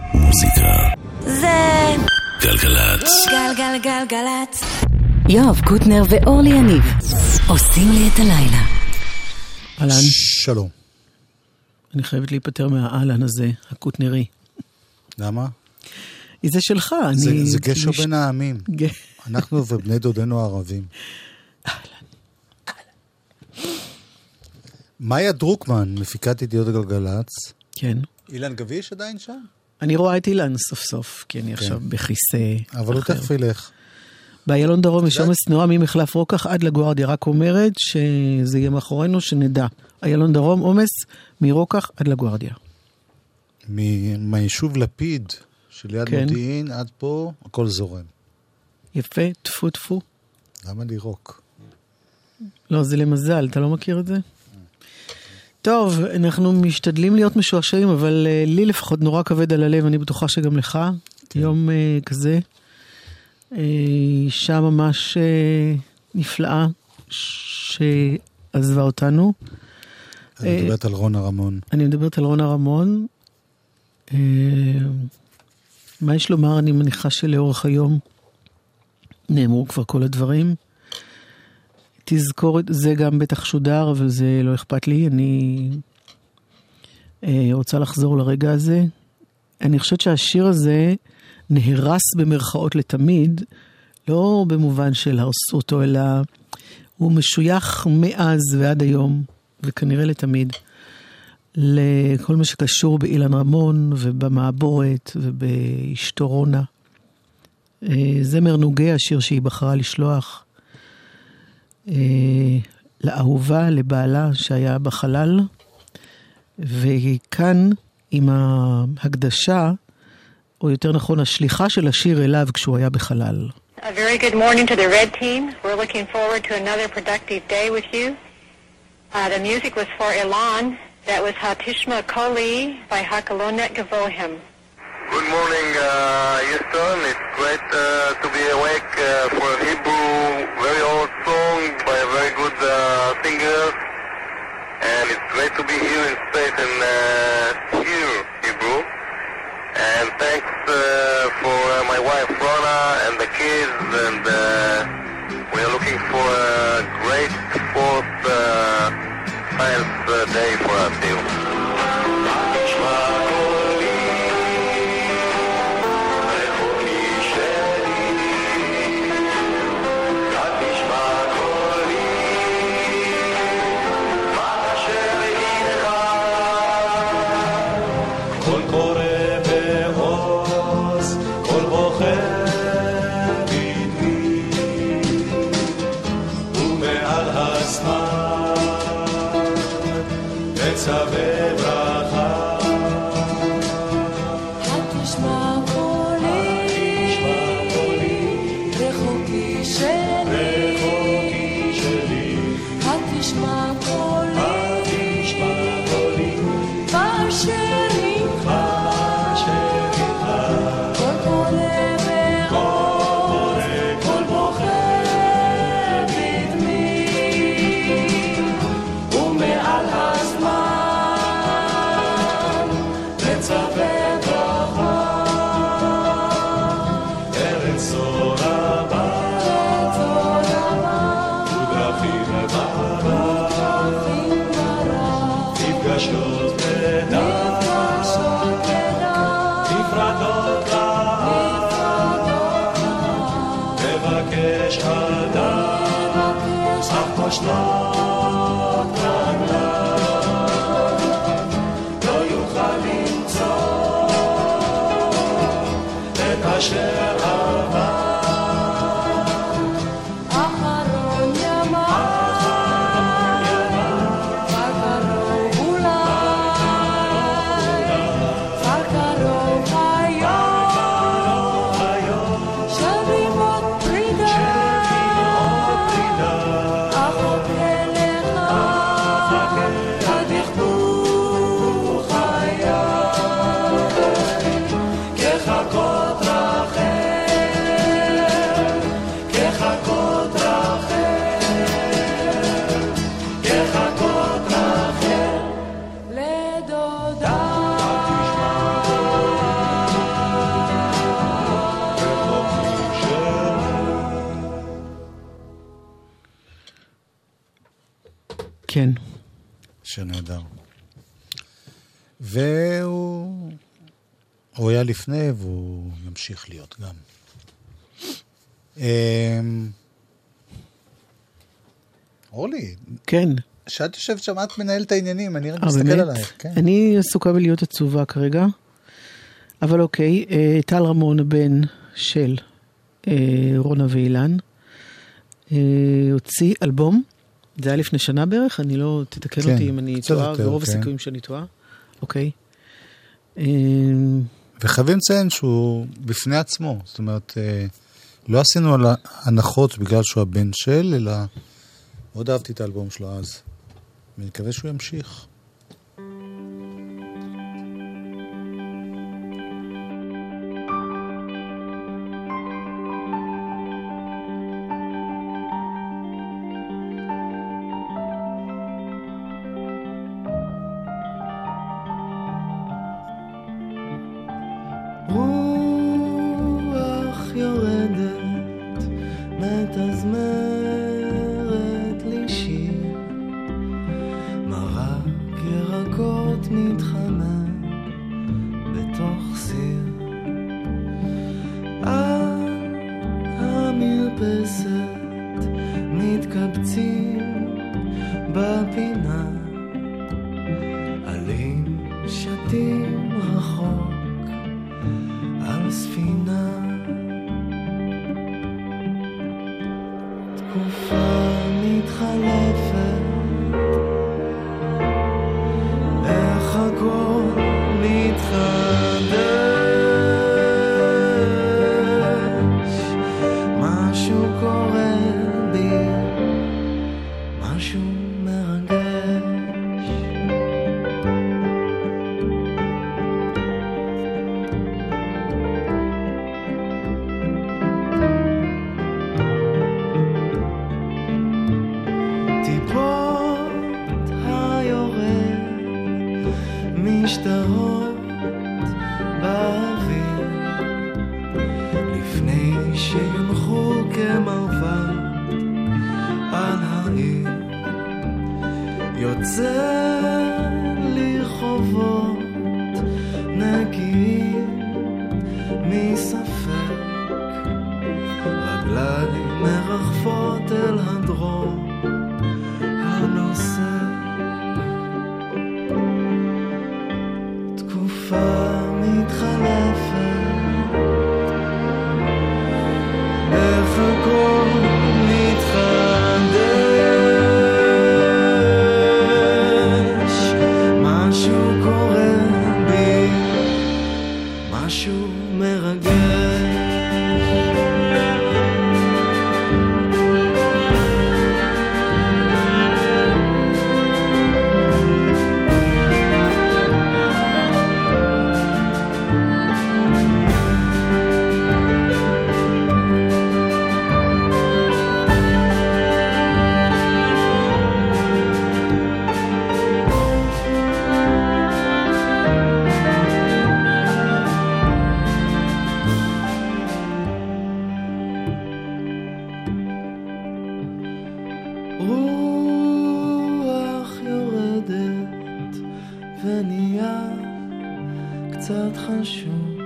מוזיקה זה גלגלצ. גלגלגלגלצ. יואב קוטנר ואורלי יניב עושים לי את הלילה. אהלן. שלום. אני חייבת להיפטר מהאהלן הזה, הקוטנרי. למה? זה שלך. זה גשר בין העמים. אנחנו ובני דודנו הערבים. מאיה דרוקמן, מפיקת ידיעות הגלגלצ. כן. אילן גביש עדיין שם? אני רואה את אילן סוף סוף, כי אני עכשיו בכיסא אבל הוא תכף ילך. באיילון דרום יש עומס תנועה ממחלף רוקח עד לגוארדיה, רק אומרת שזה יהיה מאחורינו, שנדע. איילון דרום עומס מרוקח עד לגוארדיה. מהיישוב לפיד של יד מודיעין עד פה, הכל זורם. יפה, תפו תפו. למה לירוק? לא, זה למזל, אתה לא מכיר את זה? טוב, אנחנו משתדלים להיות משועשעים, אבל לי לפחות נורא כבד על הלב, אני בטוחה שגם לך. יום כזה. אישה ממש נפלאה שעזבה אותנו. אני מדברת על רונה רמון. אני מדברת על רונה רמון. מה יש לומר? אני מניחה שלאורך היום נאמרו כבר כל הדברים. תזכור, זה גם בטח שודר, אבל זה לא אכפת לי. אני רוצה לחזור לרגע הזה. אני חושבת שהשיר הזה נהרס במרכאות לתמיד, לא במובן של הרסו אותו, אלא הוא משוייך מאז ועד היום, וכנראה לתמיד, לכל מה שקשור באילן רמון ובמעבורת ובאשתו רונה. זמר נוגה, השיר שהיא בחרה לשלוח לאהובה, לבעלה שהיה בחלל, וכאן עם ההקדשה, או יותר נכון השליחה של השיר אליו כשהוא היה בחלל. A very good morning to the Red Team. We're looking forward to another productive day with you. The music was for Elan. That was Hatishma Koli by Hakalonet Gavohim. Good morning, Houston. It's great to be awake for a Hebrew, very old song by a very good singer. And it's great to be here in space and hear Hebrew. And thanks for my wife Rona and the kids, and we are looking for a great fourth science day for us here. כחכות רחל כן. שיר נהדר. והוא היה לפני, והוא ימשיך להיות גם. אורלי. כן. שאת יושבת שם, את מנהל את העניינים, אני רק מסתכל עלייך. כן. אני עסוקה בלהיות עצובה כרגע, אבל אוקיי, טל רמון, הבן של רונה ואילן, הוציא אלבום, זה היה לפני שנה בערך, אני לא תתקן כן, אותי אם אני טועה, ורוב כן. הסיכויים שאני טועה. אוקיי. וחייבים לציין שהוא בפני עצמו, זאת אומרת, לא עשינו על הנחות בגלל שהוא הבן של, אלא מאוד אהבתי את האלבום שלו אז. אני מקווה שהוא ימשיך. רוח יורדת, מתזמרת לי שיר, מרק ירקות מתחמם בתוך סיר. על המרפסת מתקבצים בפינה, עלים שתים רחוק על ספינה. תקופה מתחלפת, איך הכל מתחדש, משהו קורה בי, משהו מרגש. משתרות באוויר לפני שיונחו כמרבד על העיר. יוצא לי חובות נקיים מספק, רגליי מרחפות אל הדרום הנושא. מתחלפת, איך הכל מתחדש, משהו קורה בי, משהו מרגש. רוח יורדת ונהיה קצת חשוך,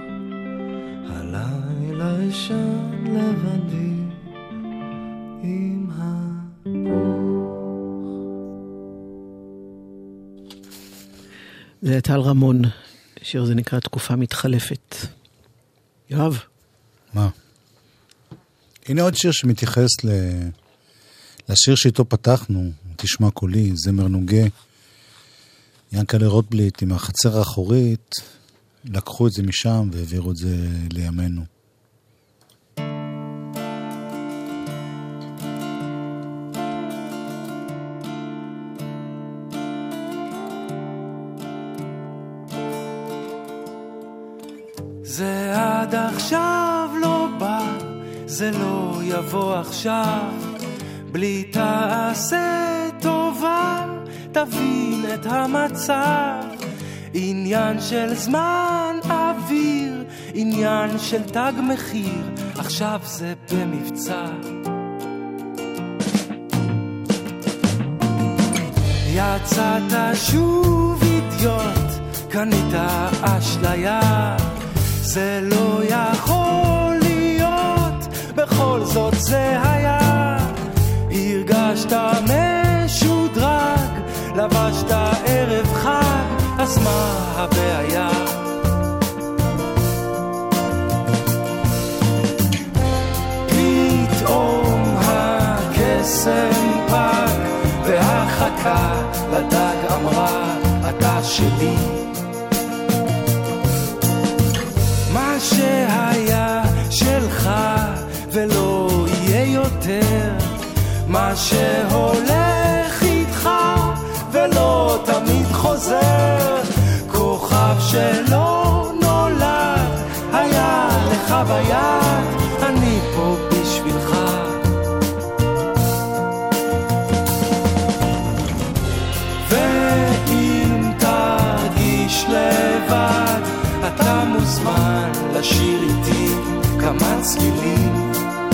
הלילה ישן לבדי עם זה טל רמון, שיר זה נקרא תקופה מתחלפת. יואב. מה? הנה עוד שיר שמתייחס לשיר שאיתו פתחנו, תשמע קולי, זמר נוגה, ינקלה רוטבליט עם החצר האחורית, לקחו את זה משם והעבירו את זה לימינו. זה עד עכשיו לא בא, זה לא יבוא עכשיו, בלי תעשה טובה, תבין את המצב, עניין של זמן אוויר, עניין של תג מחיר, עכשיו זה במבצע. יצאת שוב אידיוט, קנית אשליה, זה לא יכול להיות, בכל זאת זה היה. הרגשת משודרג, לבשת ערב חג, אז מה הבעיה? פתאום הקסם פג, והחכה לדג אמרה, אתה שלי. מה שהיה שלך ולא יהיה יותר, מה שהולך איתך ולא תמיד חוזר, כוכב שלא נולד היה לך ביד, אני פה בשבילך. ואם תרגיש לבד, אתה מוזמן לשיר איתי כמה צלילים.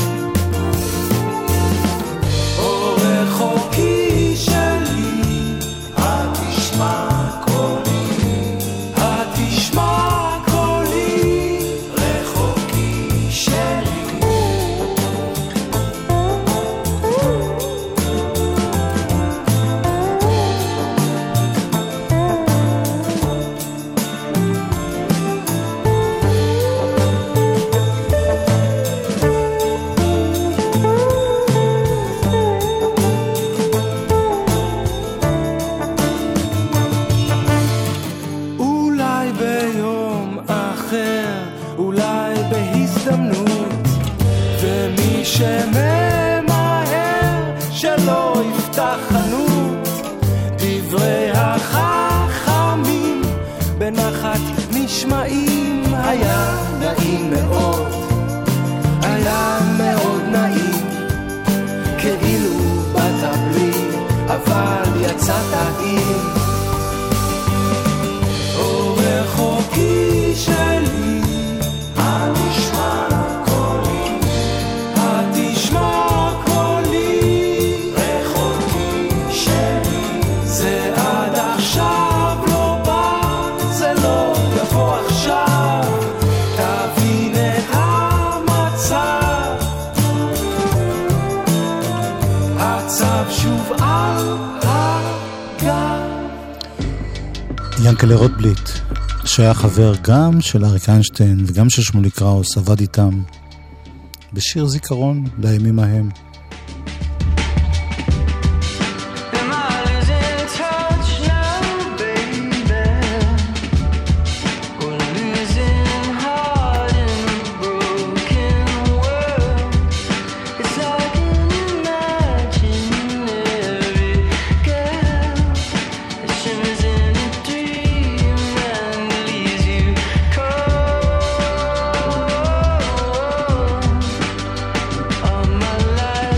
רחוקי שלי, התשמע קולי, התשמע קולי, רחוקי שלי. שממהר שלא יפתח חנות, דברי החכמים בנחת נשמעים. היה נעים מאוד, היה מאוד נעים, כאילו באת בלי אבל יצאת עם. רחוקי שלי, הנשמע ינקלה רוטבליט, שהיה חבר גם של אריק איינשטיין וגם של שמוליק קראוס, עבד איתם בשיר זיכרון לימים ההם. My life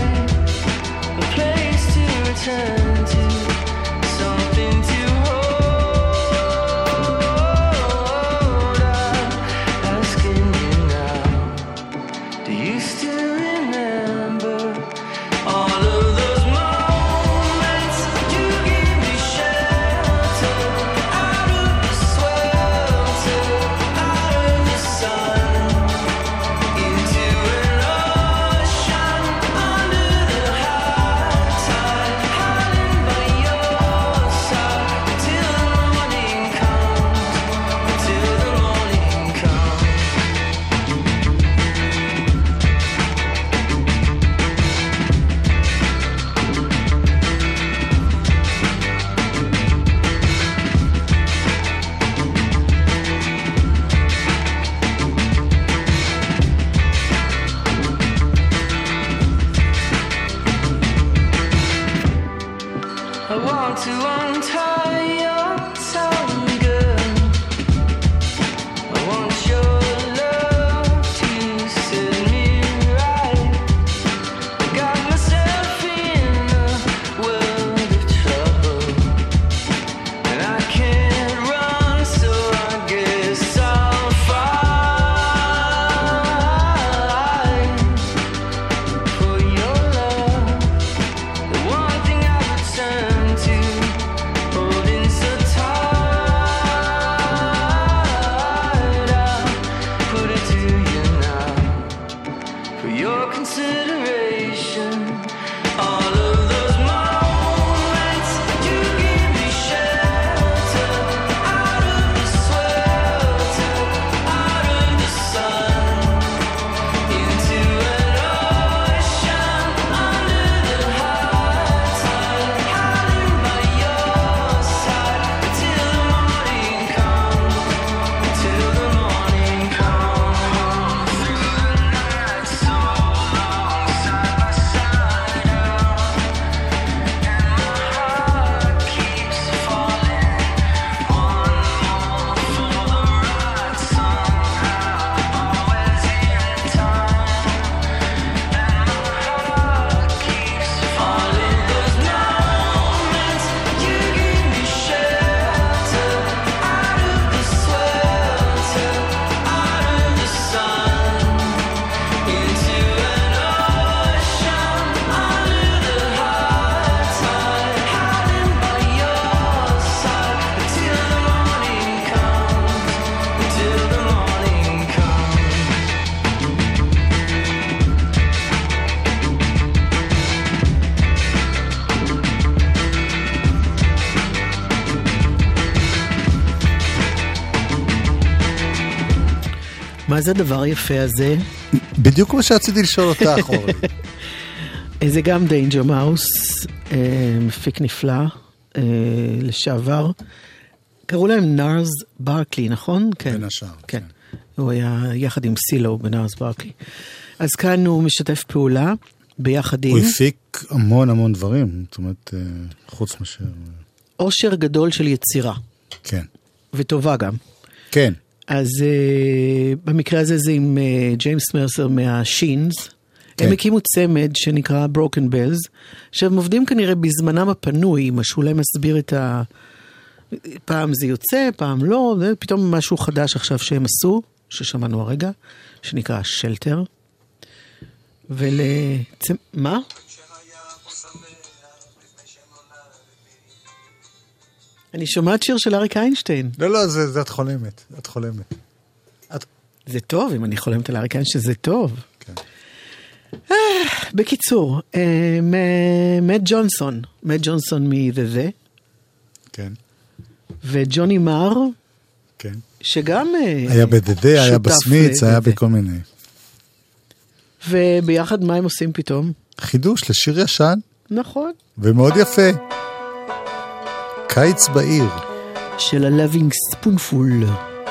מה זה הדבר היפה הזה? בדיוק מה שרציתי לשאול אותך, אורלי. זה גם דיינג'ר מאוס, מפיק נפלא, לשעבר. קראו להם נארס ברקלי, נכון? כן. בין השאר. כן. הוא היה יחד עם סילו בנארס ברקלי. אז כאן הוא משתף פעולה ביחד עם... הוא הפיק המון דברים, זאת אומרת, חוץ מאשר... עושר גדול של יצירה. כן. וטובה גם. כן. אז במקרה הזה זה עם ג'יימס מרסר מהשינס. כן. הם הקימו צמד שנקרא Broken Bells, שהם עובדים כנראה בזמנם הפנוי, משהו להם מסביר את ה... פעם זה יוצא, פעם לא, זה פתאום משהו חדש עכשיו שהם עשו, ששמענו הרגע, שנקרא שלטר. מה? אני שומעת שיר של אריק איינשטיין. לא, זה את חולמת. את חולמת. זה טוב, אם אני חולמת על אריק איינשטיין, זה טוב. כן. בקיצור, מאט ג'ונסון מ-The. כן. וג'וני מר, כן. שגם היה בדדה, היה בסמיץ, היה בכל מיני. וביחד מה הם עושים פתאום? חידוש לשיר ישן. נכון. ומאוד יפה. קיץ בעיר. של ה-Loving Spoonful.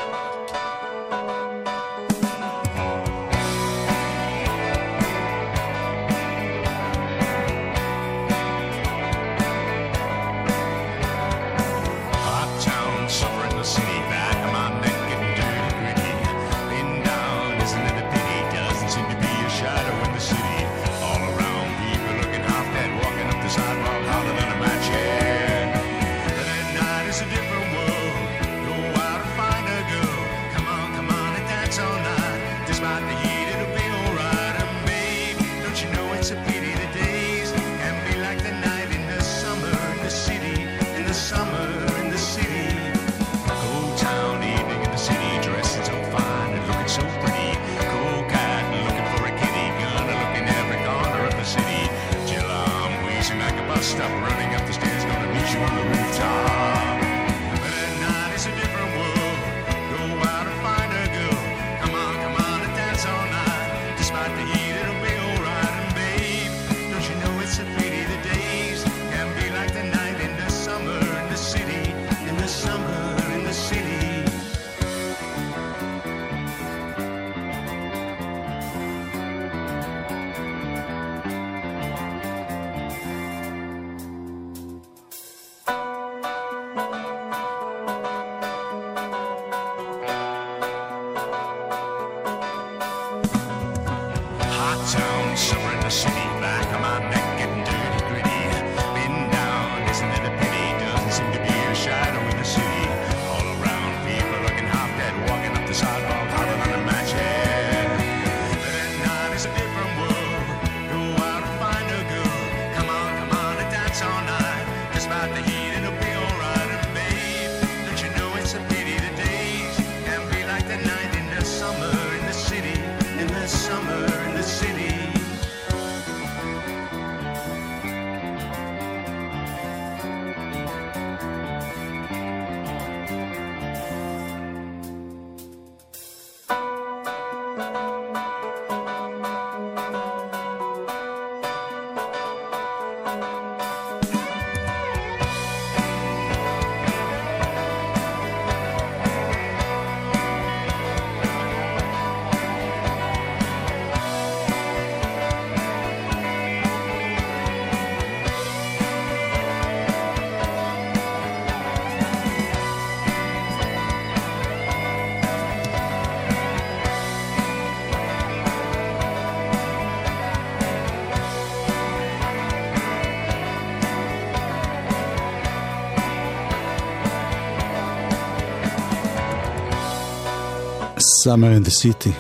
Summer in the City.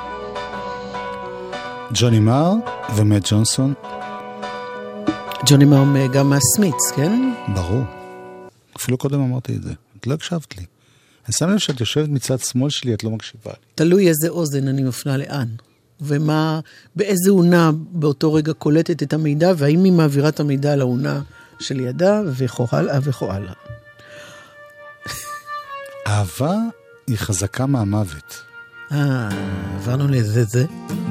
ג'וני מר ומאט ג'ונסון. ג'וני מר גם מהסמיץ, כן? ברור. אפילו קודם אמרתי את זה. את לא הקשבת לי. אני שם לב שאת יושבת מצד שמאל שלי, את לא מקשיבה לי. תלוי איזה אוזן אני מפנה לאן. ומה, באיזה עונה באותו רגע קולטת את המידע, והאם היא מעבירה את המידע לעונה של ידה, וכו הלאה וכו הלאה. אהבה היא חזקה מהמוות. עברנו לזה. זה.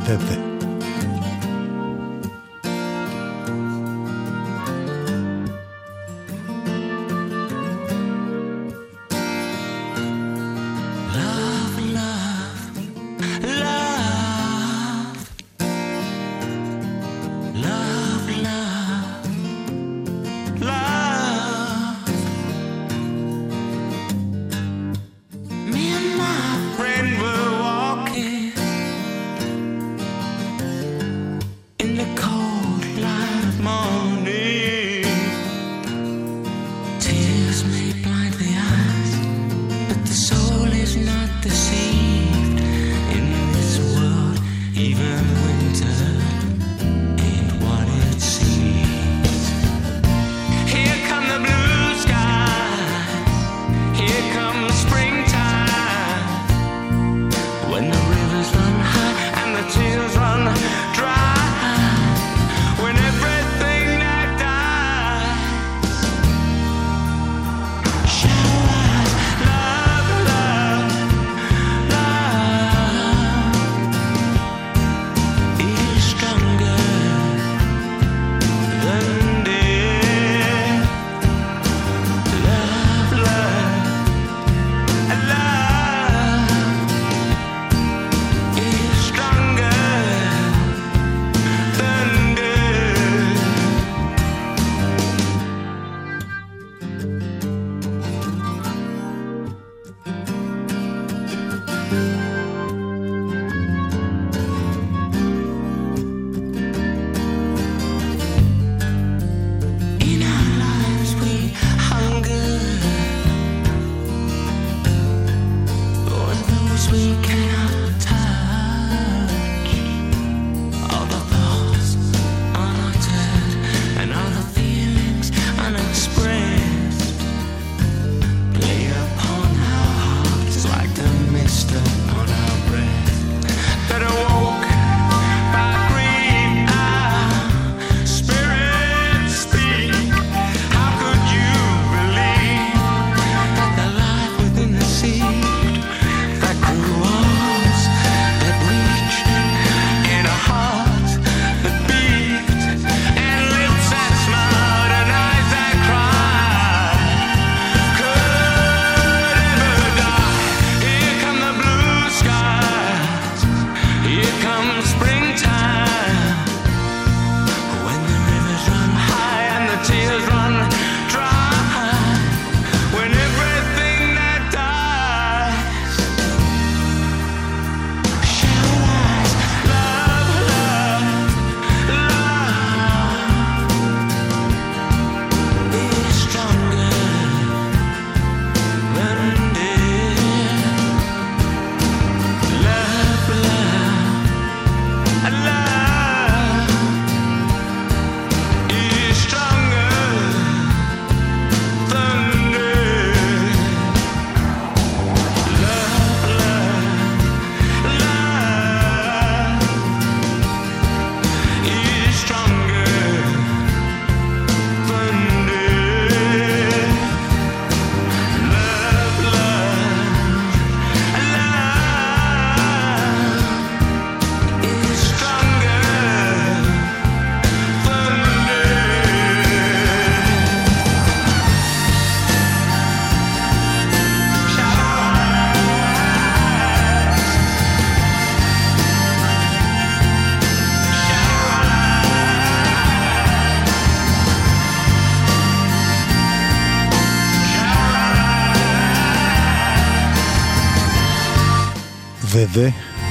וזה,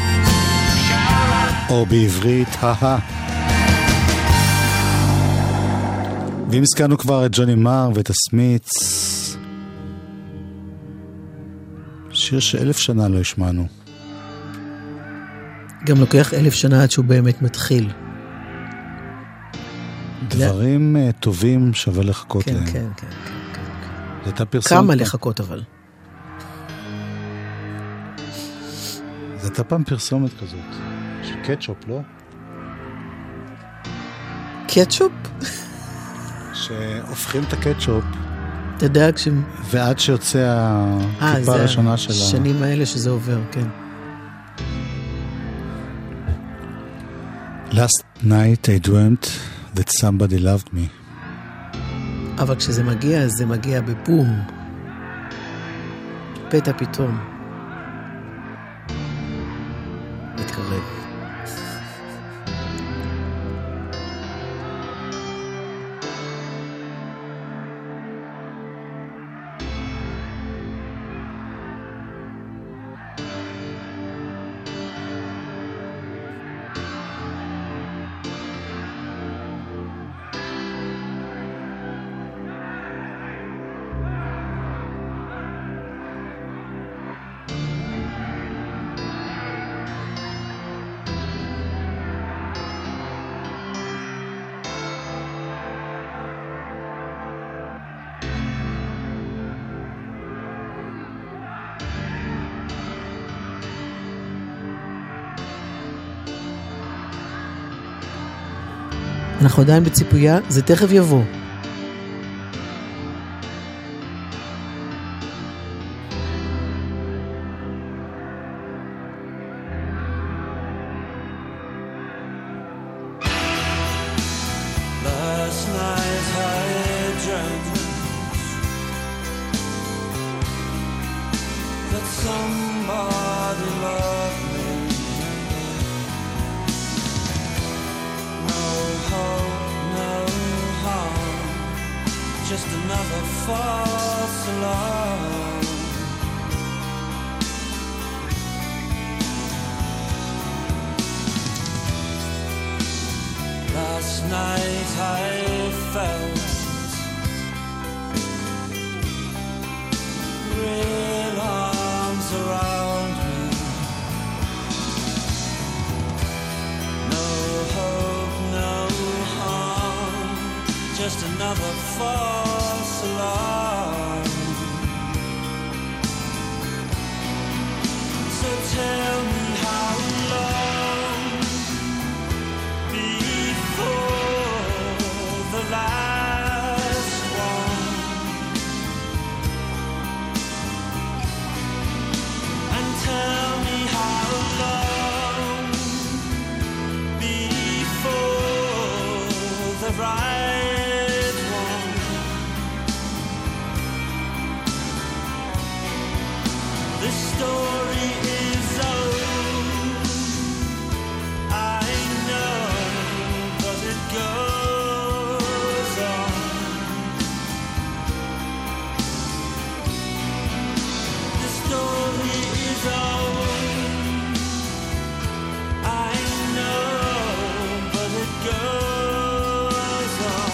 או בעברית, ואם הזכרנו כבר את ג'וני מר ואת הסמיץ, שיר ש1,000 שנה לא השמענו. גם לוקח 1,000 שנה עד שהוא באמת מתחיל. דברים טובים שווה לחכות כן, להם. כן, כן. זה הייתה פרסומת. כמה לחכות אבל? זה הייתה פעם פרסומת כזאת, של קטשופ, לא? קטשופ? שהופכים את הקטשופ. אתה יודע ועד שיוצא הטיפה הראשונה של השנים האלה שזה עובר, כן. Last night I dreamt that somebody loved me. אבל כשזה מגיע, זה מגיע בבום. פתע פתאום. מתקרב. אנחנו עדיין בציפויה, זה תכף יבוא. Last night I dreamt that somebody loved me. No hope, no harm, just another false alarm. Last night I felt real arms around me. No hope, no harm, just another false alarm. So tell me how long before the last one, and tell me how long before the right one. This story is old, I know, but it goes on. The story is old, I know, but it goes on.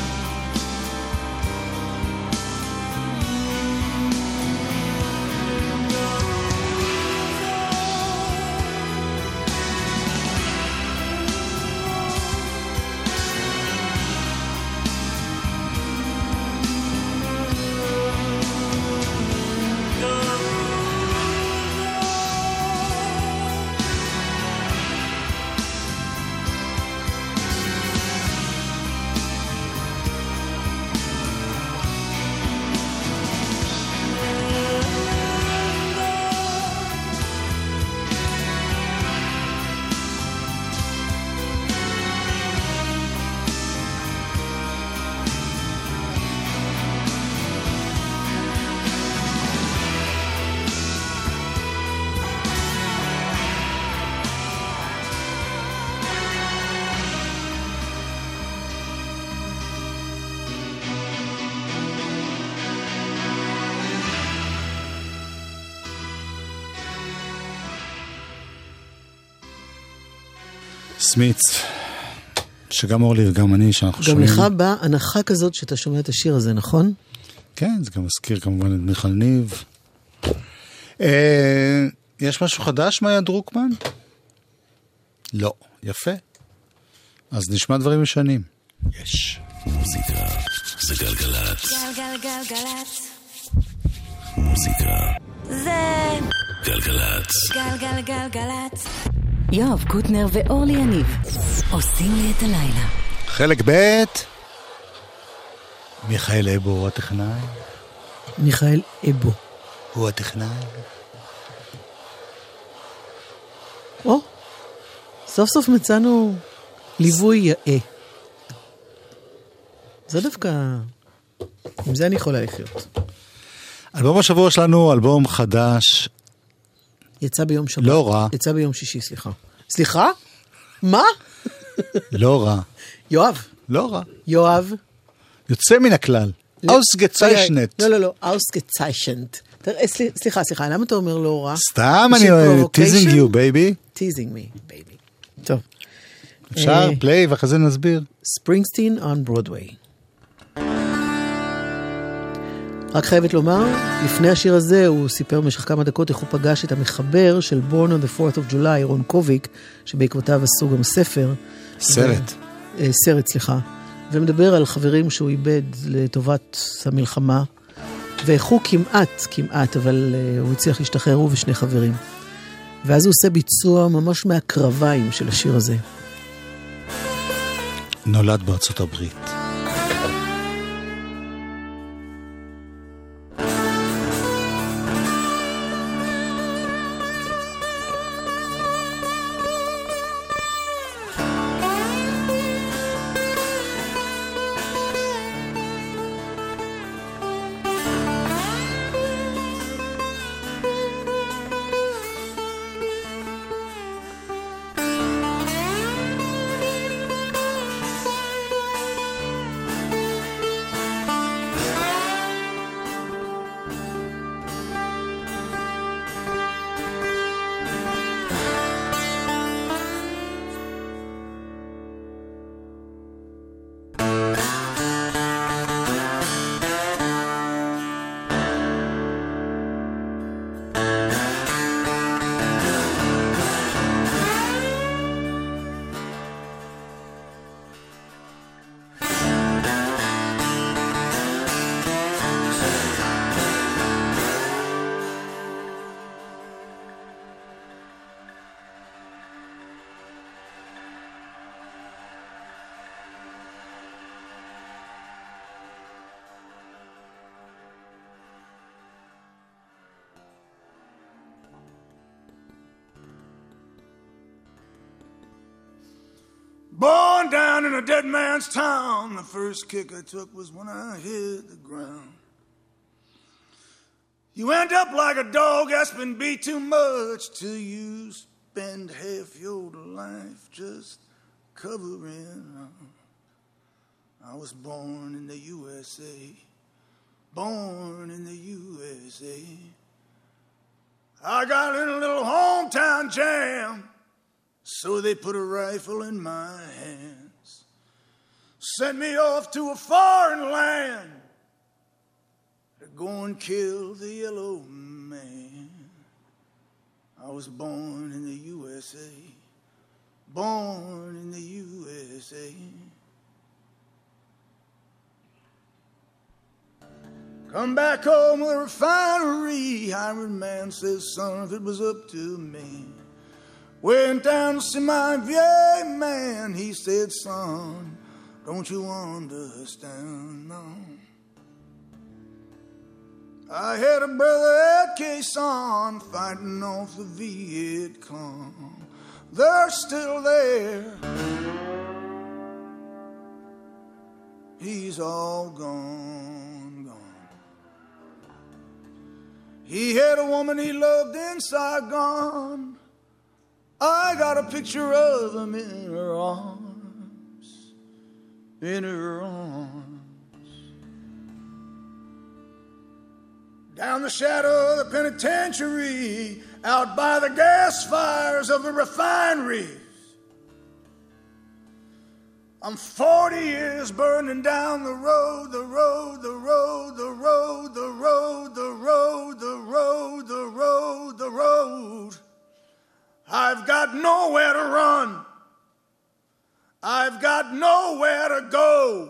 סמיץ, שגם אורלי וגם אני, שאנחנו גם שומעים. לך באה הנחה כזאת שאתה שומע את השיר הזה, נכון? כן, זה גם מזכיר כמובן את מיכל ניב. יש משהו חדש, מאיה דרוקמן? לא, יפה. אז נשמע דברים ישנים. יש. מוזיקה זה גלגלצ. גלגלגלגלצ. מוזיקה זה גלגלצ. גלגלגלגלצ. יואב קוטנר ואורלי יניב עושים לי את הלילה. חלק ב' מיכאל אבו הוא הטכנאי. מיכאל אבו. הוא הטכנאי. או, סוף סוף מצאנו ליווי יאה. זה דווקא... עם זה אני יכולה לחיות. אלבום השבוע שלנו, אלבום חדש, יצא ביום שבת. לא רע. יצא ביום שישי, סליחה. סליחה? מה? לא רע. יואב. לא רע. יואב. יוצא מן הכלל. אוסגציישנט. לא, אוסגציישנט. סליחה, למה אתה אומר לא רע? סתם אני אוהב, teasing you, baby. teasing me, baby. טוב. אפשר פליי ואחרי זה נסביר. ספרינגסטין on Broadway. רק חייבת לומר, לפני השיר הזה הוא סיפר במשך כמה דקות איך הוא פגש את המחבר של Born on the 4th of July, רון קוביק, שבעקבותיו עשו גם ספר. סרט, סליחה. ומדבר על חברים שהוא איבד לטובת המלחמה, ואיך הוא כמעט, אבל הוא הצליח להשתחרר הוא ושני חברים. ואז הוא עושה ביצוע ממש מהקרביים של השיר הזה. נולד בארצות הברית. Born down in a dead man's town, the first kick I took was when I hit the ground. You end up like a dog that's been beat too much till you spend half your life just covering up. I was born in the USA, born in the USA. I got in a little hometown jam, so they put a rifle in my hands, sent me off to a foreign land to go and kill the yellow man. I was born in the USA, born in the USA. Come back home with a refinery, hired man says, son, if it was up to me. Went down to see my VA man, he said, son, don't you understand, no. I had a brother at Quezon fighting off the Viet Cong. They're still there. He's all gone, gone. He had a woman he loved in Saigon. I got a picture of him in her arms, in her arms. Down the shadow of the penitentiary, out by the gas fires of the refineries. I'm 40 years burning down the road, the road, the road, the road, the road, the road, the road, the road, the road. I've got nowhere to run. I've got nowhere to go.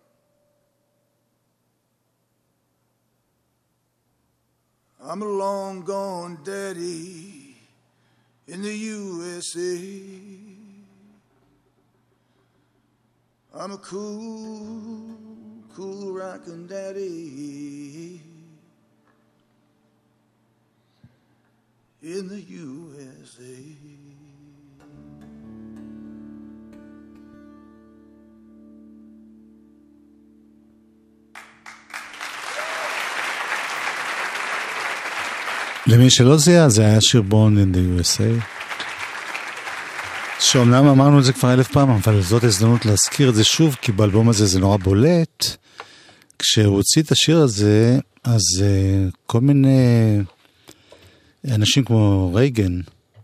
I'm a long gone daddy in the USA. I'm a cool, cool rockin' daddy in the USA. למי שלא זיהה, זה היה שיר Born in the USA. שאומנם אמרנו את זה כבר 1000 פעם, אבל זאת הזדמנות להזכיר את זה שוב, כי באלבום הזה זה נורא בולט. כשהוא הוציא את השיר הזה, אז כל מיני אנשים כמו רייגן.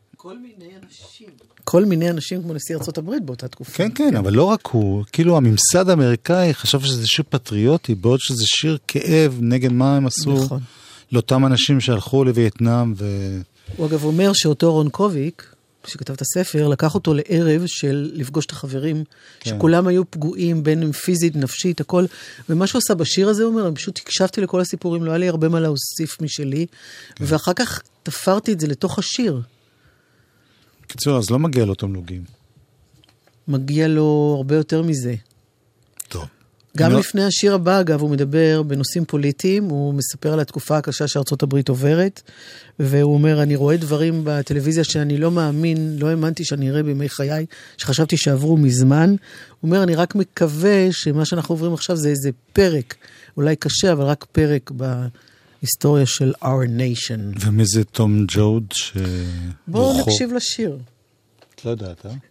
כל מיני אנשים כמו נשיא ארצות הברית באותה תקופה. כן, כן, אבל לא רק הוא. כאילו הממסד האמריקאי חשב שזה שיר פטריוטי, בעוד שזה שיר כאב נגד מה הם עשו. נכון. לאותם אנשים שהלכו לווייטנאם הוא אגב אומר שאותו רון קוביק, שכתב את הספר, לקח אותו לערב של לפגוש את החברים, שכולם היו פגועים, בין אם פיזית, נפשית, הכל. ומה שהוא עשה בשיר הזה, הוא אומר, אני פשוט הקשבתי לכל הסיפורים, לא היה לי הרבה מה להוסיף משלי, ואחר כך תפרתי את זה לתוך השיר. קיצור, אז לא מגיע לו תמלוגים. מגיע לו הרבה יותר מזה. טוב. גם לפני השיר הבא, אגב, הוא מדבר בנושאים פוליטיים, הוא מספר על התקופה הקשה שארצות הברית עוברת, והוא אומר, אני רואה דברים בטלוויזיה שאני לא מאמין, לא האמנתי שאני אראה בימי חיי, שחשבתי שעברו מזמן. הוא אומר, אני רק מקווה שמה שאנחנו עוברים עכשיו זה איזה פרק, אולי קשה, אבל רק פרק בהיסטוריה של our nation. ומי זה תום ג'וד? בואו נקשיב לשיר. את לא יודעת, אה?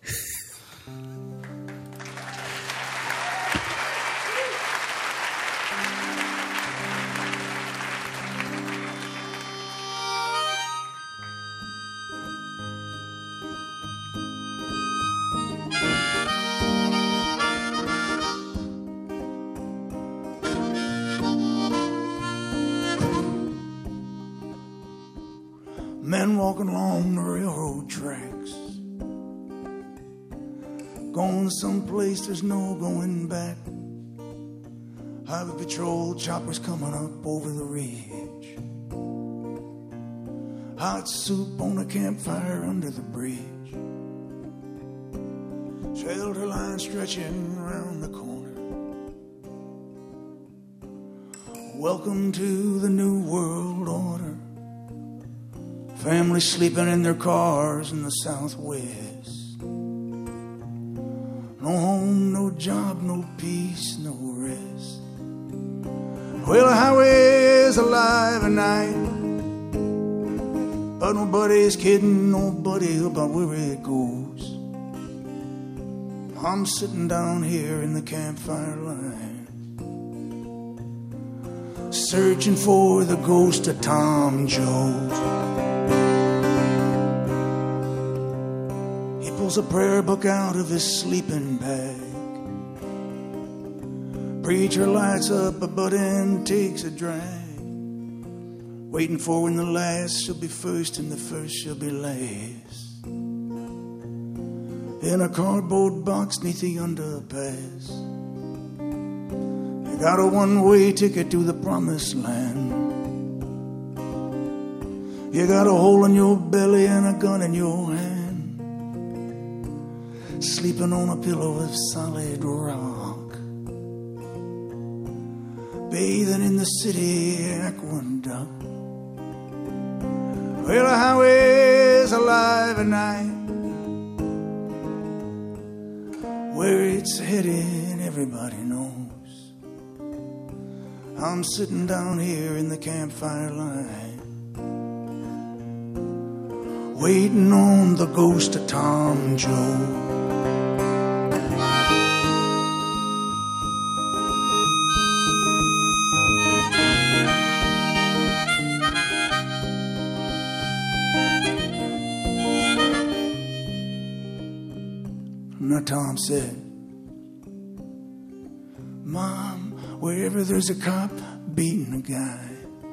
Men walking along the railroad tracks, going someplace there's no going back. Highway patrol choppers coming up over the ridge. Hot soup on a campfire under the bridge. Shelter line stretching around the corner. Welcome to the new world order. Families sleeping in their cars in the Southwest. No home, no job, no peace, no rest. Well, the highway is alive at night, but nobody's kidding nobody about where it goes. I'm sitting down here in the campfire line, searching for the ghost of Tom Jones. Pulls a prayer book out of his sleeping bag. Preacher lights up a butt and takes a drag, waiting for when the last shall be first and the first shall be last. In a cardboard box neath the underpass, I got a one-way ticket to the promised land. You got a hole in your belly and a gun in your hand, sleeping on a pillow of solid rock, bathing in the city aqueduct. Well, the highway's alive at night, where it's headed everybody knows. I'm sitting down here in the campfire line, waiting on the ghost of Tom Jones. Now Tom said, Mom, wherever there's a cop beating a guy,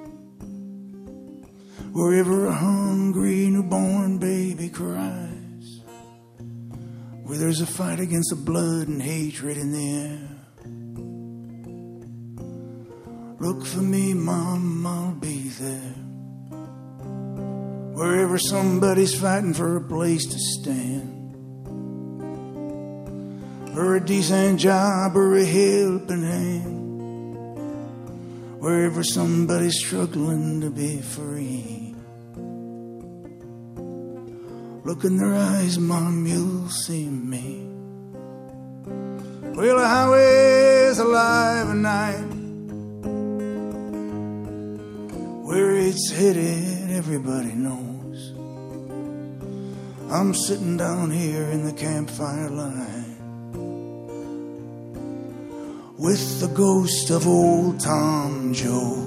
wherever a hungry newborn baby cries, where there's a fight against the blood and hatred in the air, look for me, Mom, I'll be there. Wherever somebody's fighting for a place to stand, or a decent job, or a helping hand, wherever somebody's struggling to be free, look in their eyes, Mom, you'll see me. Well, the highway's alive at night, where it's headed everybody knows I'm sitting down here in the campfire line with the ghost of old Tom Joad.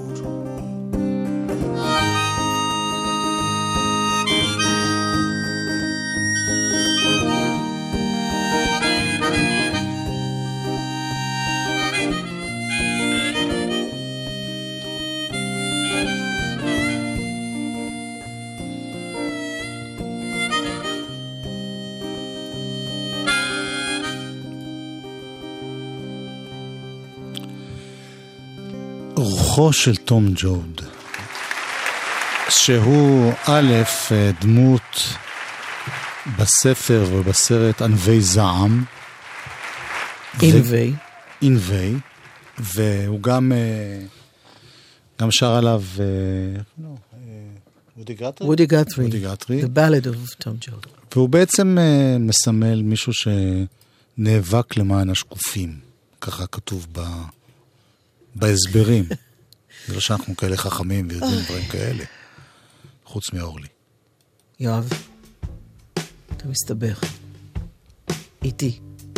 רוחו של תום ג'וד, שהוא א' דמות בספר ובסרט ענבי זעם, ענבי, והוא גם שר עליו וודי גת'רי, The Ballad of Tom Joad. והוא בעצם מסמל מישהו שנאבק למען השקופים, ככה כתוב בהסברים. זה לא שאנחנו כאלה חכמים ויודעים דברים כאלה, חוץ מאורלי. יואב, אתה מסתבך איתי.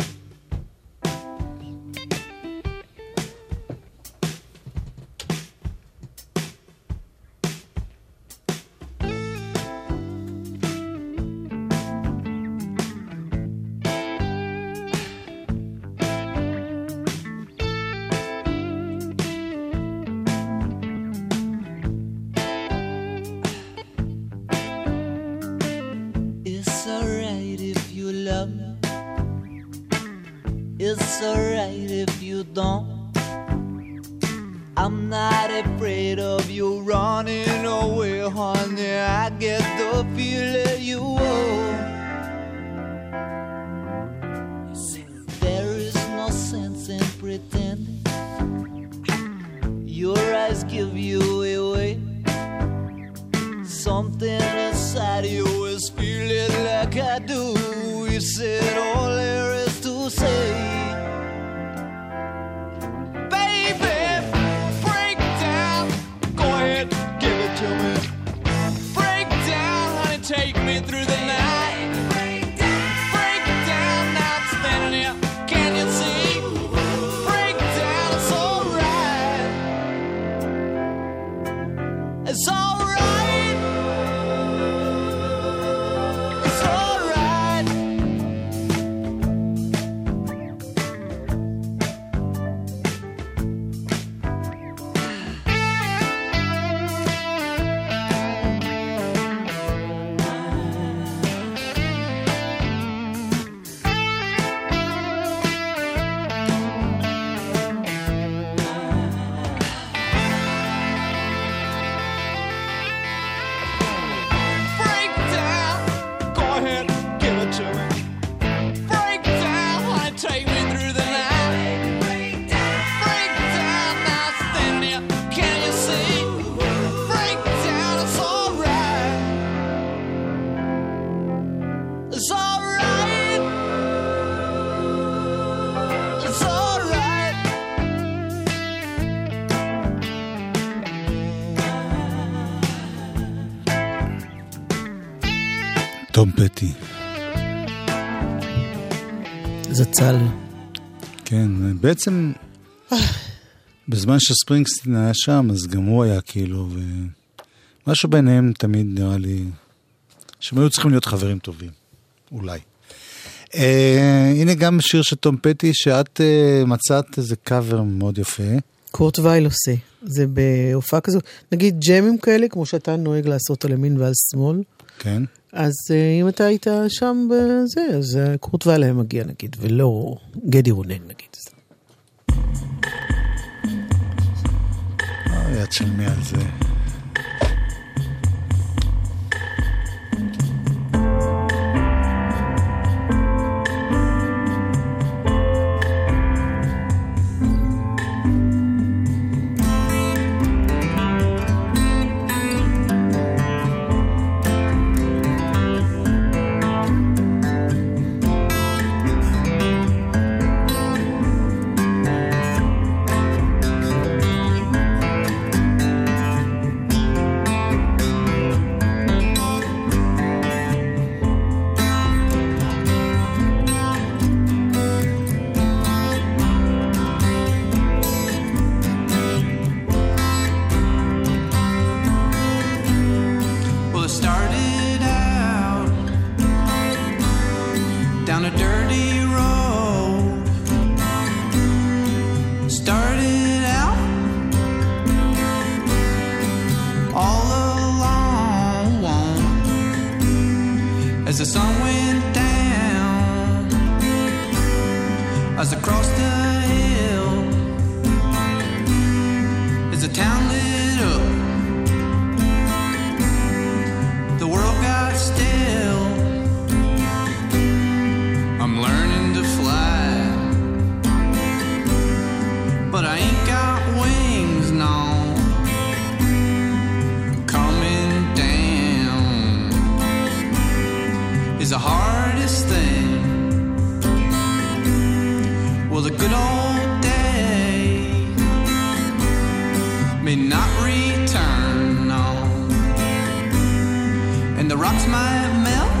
It's alright if you don't. I'm not afraid of you running away, honey. I get the feeling you owe. There is no sense in pretending. Your eyes give you away. Something inside you is feeling like I do. You said all there is to say. Take me through the night. Break down, now I'm standing here. Can you see? Break down, it's alright. It's alright. It's alright. תום פטי. זצ"ל. כן, בעצם בזמן שספרינגסטין היה שם, אז גם הוא היה כאילו, ומשהו ביניהם תמיד נראה לי, שהם היו צריכים להיות חברים טובים, אולי. הנה גם שיר של תום פטי, שאת מצאת איזה קאבר מאוד יפה. קורט וייל עושה, זה בהופעה כזו, נגיד ג'מים כאלה, כמו שאתה נוהג לעשות על ימין ועל שמאל. כן. אז אם אתה היית שם בזה, אז קורט וייל היה מגיע נגיד, ולא גדי רונן נגיד. יד של מי על זה. down a dirty road. Started out all alone as the sun went down, as I crossed the hill, as the town lit up, the world got still. I'm learning to fly, but I ain't got wings, no. Coming down is the hardest thing. Well, the good old days may not return, no. And the rocks might melt,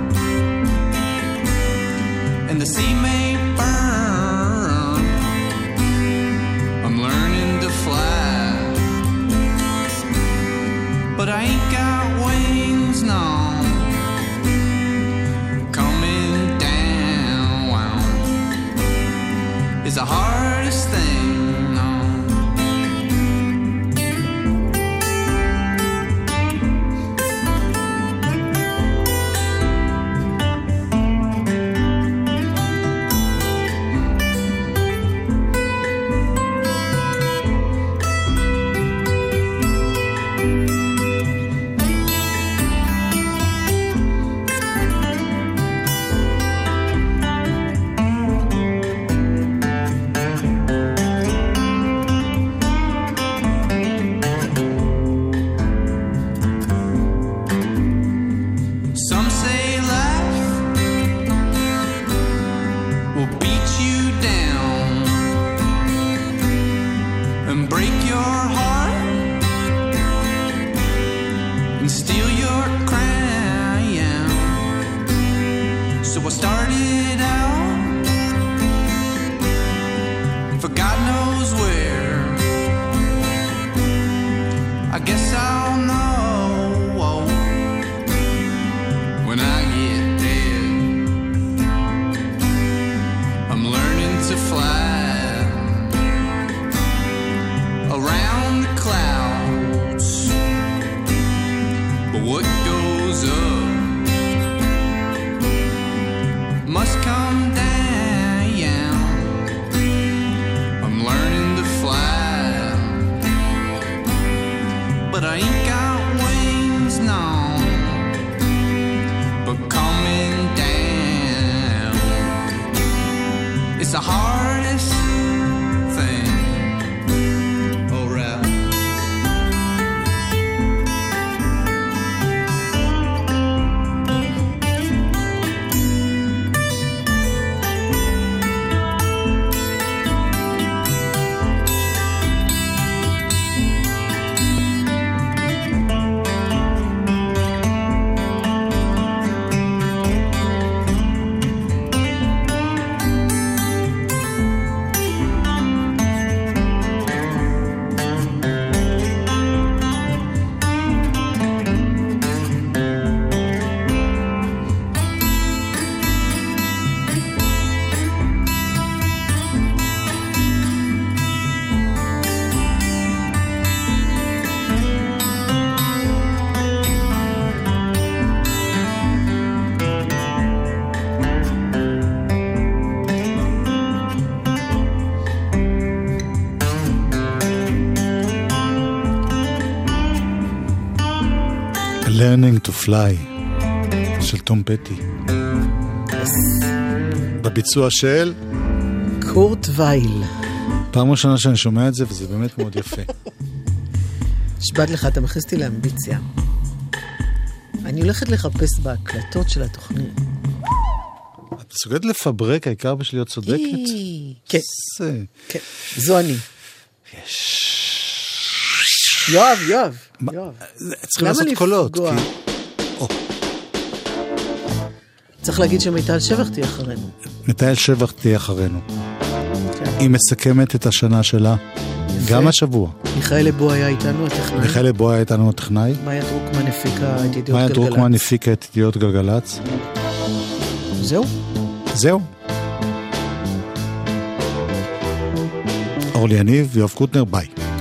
and the sea may burn. I'm learning to fly, but I ain't got wings, no. Coming down is the hardest thing, no. Some say life will beat you down and break your heart and steal your crown. So I started out for God knows where. I guess I'll know when I get dead. I'm learning to fly around the clouds, but what goes up must come down. I'm learning to fly, but I ain't got wings, no. But coming down, it's the hardest thing. Oh, right. Learning to Fly של תום פטי, בביצוע של קורט וייל. פעם ראשונה שאני שומע את זה, וזה באמת מאוד יפה. נשבעת לך, אתה מכניס אותי לאמביציה. אני הולכת לחפש בהקלטות של התוכנית. את מסוגלת לפברק, העיקר בשביל להיות צודקת? כן, כן, זו אני. יואב. צריכים לעשות קולות. צריך להגיד שמיטל שבח תהיה אחרינו. מיטל שבח תהיה אחרינו. היא מסכמת את השנה שלה. גם השבוע. מיכאל לבו היה איתנו הטכנאי. מיכאל לבו היה איתנו הטכנאי. מאיה דרוקמן הפיקה את ידיעות גלגלץ. מאיה דרוקמן הפיקה את ידיעות גלגלץ. זהו. זהו. אורלי יניב ויואב קוטנר, ביי.